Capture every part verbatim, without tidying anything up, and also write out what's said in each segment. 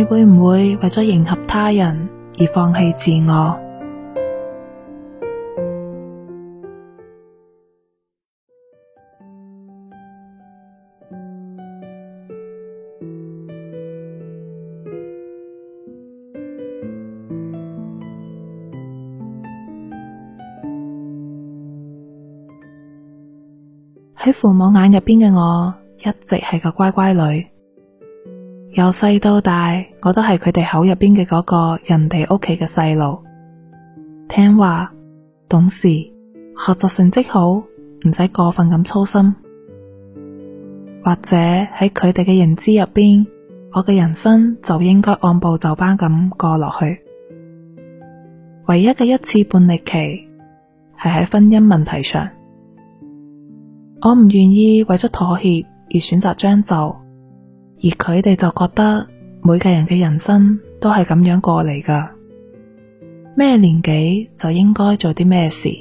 會唔會為咗迎合他人而放棄自我？喺父母眼入邊嘅我，一直係個乖乖女。由細到大，我都係佢哋口入邊嘅嗰個人哋屋企嘅細路，聽話、懂事、學習成績好，唔使過分咁操心。或者喺佢哋嘅認知入邊，我嘅人生就應該按部就班咁過落去。唯一嘅一次叛逆期，係喺婚姻問題上。我唔願意為咗妥協而選擇將就，而佢哋就覺得每個人嘅人生都係咁樣過嚟㗎，咩年紀就應該做啲咩事。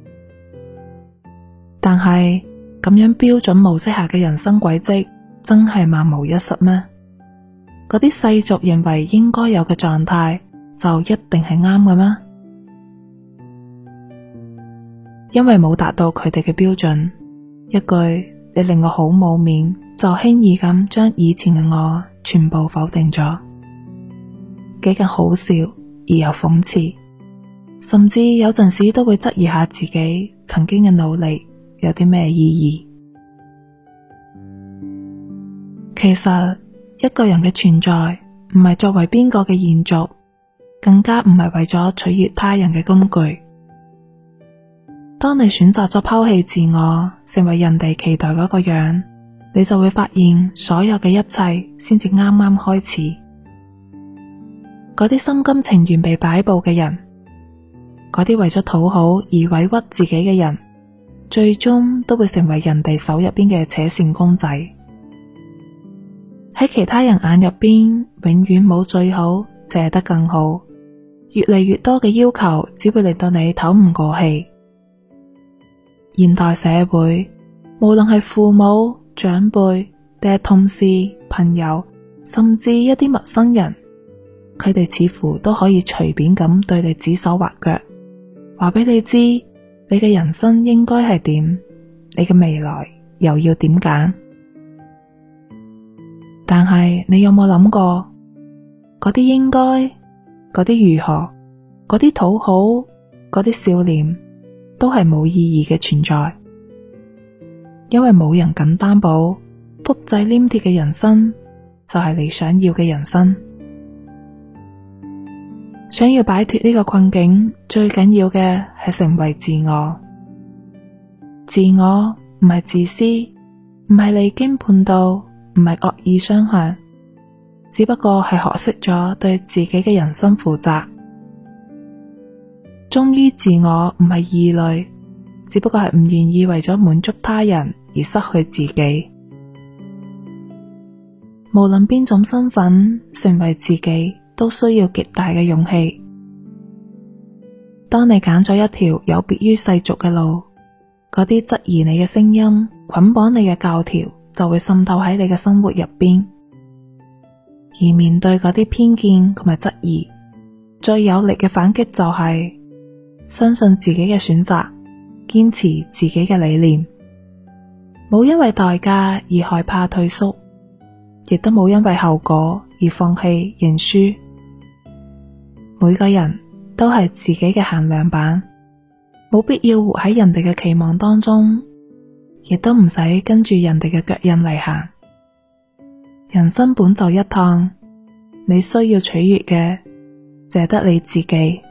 但係咁樣標準模式下嘅人生軌跡真係萬無一失咩？嗰啲世俗認為應該有嘅狀態就一定係啱嘅咩？因為冇達到佢哋嘅標準，一句你令我好冇面，就輕易咁將以前嘅我全部否定咗，幾咁好笑而又諷刺，甚至有陣時都會質疑下自己曾經嘅努力有啲咩意義。其實一個人嘅存在唔係作為邊個嘅延續，更加唔係為咗取悅他人嘅工具。當你選擇咗拋棄自我，成為人哋期待嗰個樣，你就會發現所有嘅一切先至啱啱開始。嗰啲心甘情願被擺布嘅人，嗰啲為咗討好而委屈自己嘅人，最終都會成為人哋手入邊嘅扯線公仔。喺其他人眼入邊，永遠冇最好，淨係得更好。越嚟越多嘅要求，只會令到你唞唔過氣。現代社會，無論係父母、長輩，定係同事、朋友，甚至一啲陌生人，佢哋似乎都可以隨便咁對你指手畫腳，話俾你知你嘅人生應該係點，你嘅未來又要點揀。但係你有冇諗過，嗰啲應該，嗰啲如何，嗰啲討好，嗰啲笑臉，都係冇意義嘅存在，因為冇人敢擔保複製黏貼嘅人生就係你想要嘅人生。想要擺脫呢個困境，最緊要嘅係成為自我。自我唔係自私，唔係離經叛道，唔係惡意相向，只不過係學識咗對自己嘅人生負責。忠於自我唔係異類，只不過係唔願意為咗滿足他人而失去自己。無論邊種身份，成為自己都需要極大嘅勇氣。當你揀咗一條有別於世俗嘅路，嗰啲質疑你嘅聲音，捆綁你嘅教條，就會滲透喺你嘅生活入邊。而面對嗰啲偏見同埋質疑，最有力嘅反擊就係相信自己嘅選擇，堅持自己嘅理念，冇因為代價而害怕退縮，亦都冇因為後果而放棄認輸。每個人都係自己嘅限量版，冇必要活喺人哋嘅期望當中，亦都唔使跟住人哋嘅腳印嚟行。人生本就一趟，你需要取悅嘅，淨係得你自己。